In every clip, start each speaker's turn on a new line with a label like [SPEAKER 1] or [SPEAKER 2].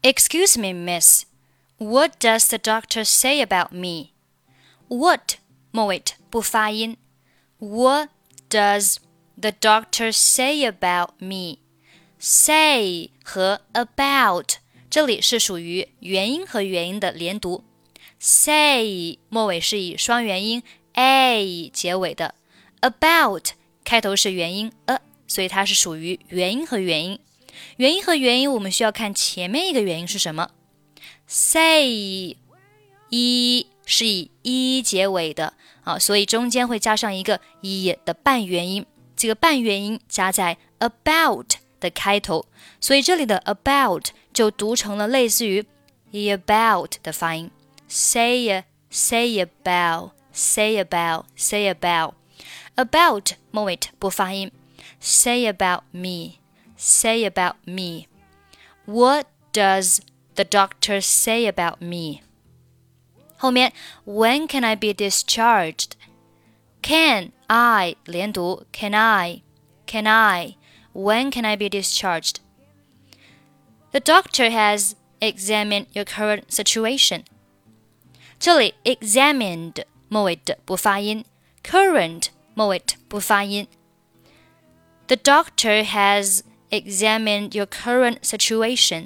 [SPEAKER 1] Excuse me, miss. What does the doctor say about me? What 末尾不发音。What does the doctor say about me? Say 和 about 这里是属于元音和元音的连读。Say 末尾是以双元音 a 结尾的。About 开头是元音 a， 所以它是属于元音和元音。元音和元音我们需要看前面一个元音是什么。Say 一是以一结尾的所以中间会加上一个一的半元音，这个半元音加在 about 的开头，所以这里的 about 就读成了类似于 about 的发音。Say about say about say about about 末尾不发音。Say about me say about me What does the doctor say about me? 后面 When can I be discharged? Can I 连读 Can I When can I be discharged? The doctor has examined your current situation. 这里 examined 末尾的不发音 current 末尾不发音。The doctor has examined your current situation.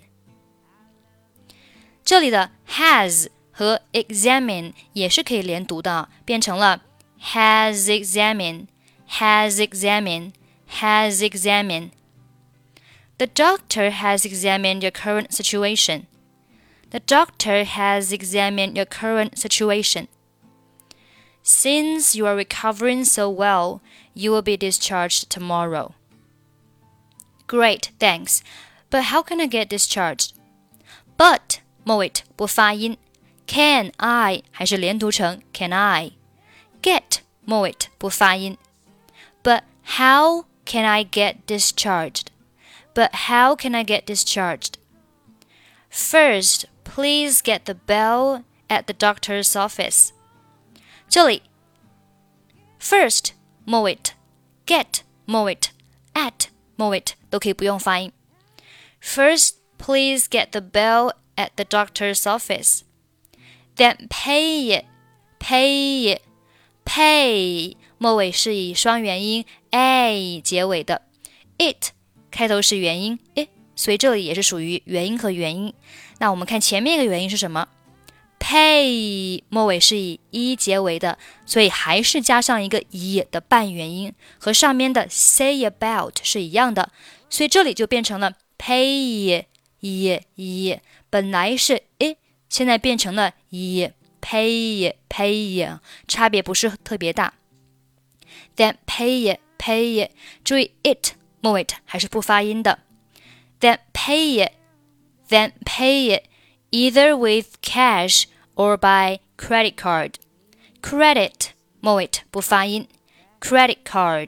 [SPEAKER 1] 这里的 has 和 examine 也是可以连读的变成了 has examined has examined has examined. The doctor has examined your current situation. The doctor has examined your current situation. Since you are recovering so well, you will be discharged tomorrow. Great, thanks. But how can I get discharged? But 末尾不发音 Can I 还是连读成 Can I Get 末尾不发音 But how can I get discharged? But how can I get discharged? First, please get the bell at the doctor's office. 这里 First 末尾 Get 末尾 At 末尾都可以不用发音 First, please get the bell at the doctor's office. Then pay it Pay 末尾是以双元音 a 结尾的 It 开头是元音 it 所以这里也是属于元音和元音。那我们看前面一个元音是什么 Pay 末尾是以一结尾的，所以还是加上一个一的半元音，和上面的 say about 是一样的，所以这里就变成了 pay 一本来是 it 现在变成了一 pay 差别不是特别大。 Then pay it 注意 it 末尾还是不发音的。 Then pay it either with cash or by credit card. Credit 末尾不发音 credit card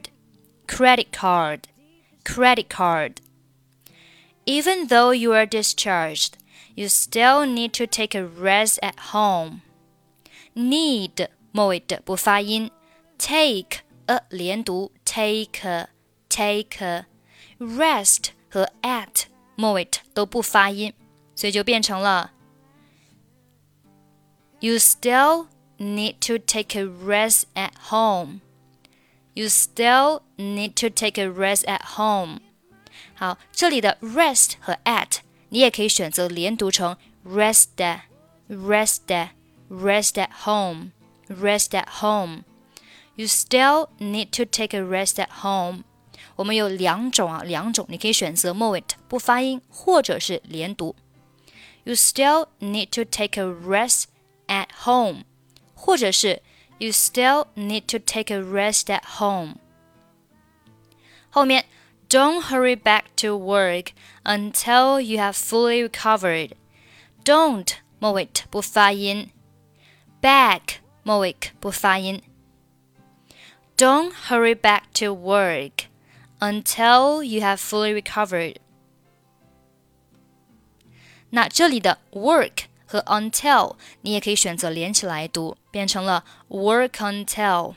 [SPEAKER 1] Even though you are discharged, you still need to take a rest at home. Need 末尾不发音 take 连读 take Rest 和 at 末尾都不发音，所以就变成了 You still need to take a rest at home. You still need to take a rest at home. 好，这里的 rest 和 at 你也可以选择连读成 rest at home. You still need to take a rest at home. 我们有两种你可以选择末尾不发音或者是连读。You still need to take a rest at home 或者是 You still need to take a rest at home. 后面 Don't hurry back to work until you have fully recovered. Don't 末尾不发音 Back 末尾不发音 Don't hurry back to work until you have fully recovered. 那这里的 work 和 until 你也可以选择连起来读，变成了 work until.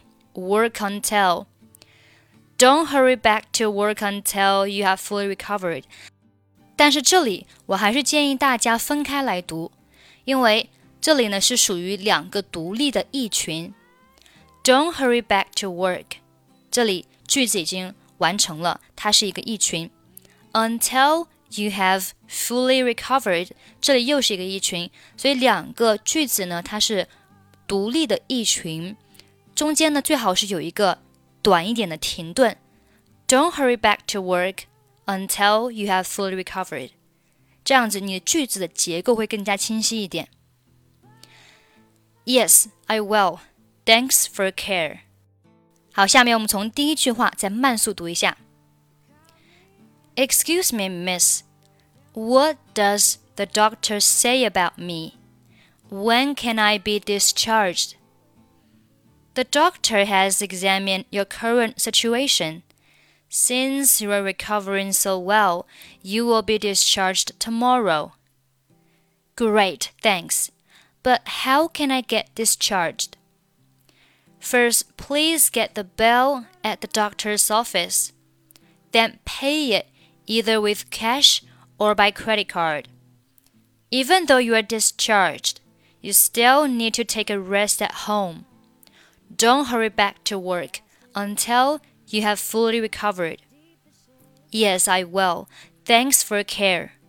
[SPEAKER 1] Don't hurry back to work until you have fully recovered. 但是这里我还是建议大家分开来读，因为这里呢是属于两个独立的意群。Don't hurry back to work， 这里句子已经完成了，它是一个意群。Until you have fully recovered， 这里又是一个意群，所以两个句子呢它是独立的意群，中间呢最好是有一个短一点的停顿。Don't hurry back to work until you have fully recovered， 这样子你的句子的结构会更加清晰一点。Yes, I will. Thanks for your care. 好，下面我们从第一句话再慢速读一下。Excuse me, miss. What does the doctor say about me? When can I be discharged? The doctor has examined your current situation. Since you are recovering so well, you will be discharged tomorrow. Great, thanks. But how can I get discharged? First, please get the bill at the doctor's office. Then pay it either with cash or by credit card. Even though you are discharged, you still need to take a rest at home. Don't hurry back to work until you have fully recovered. Yes, I will. Thanks for your care.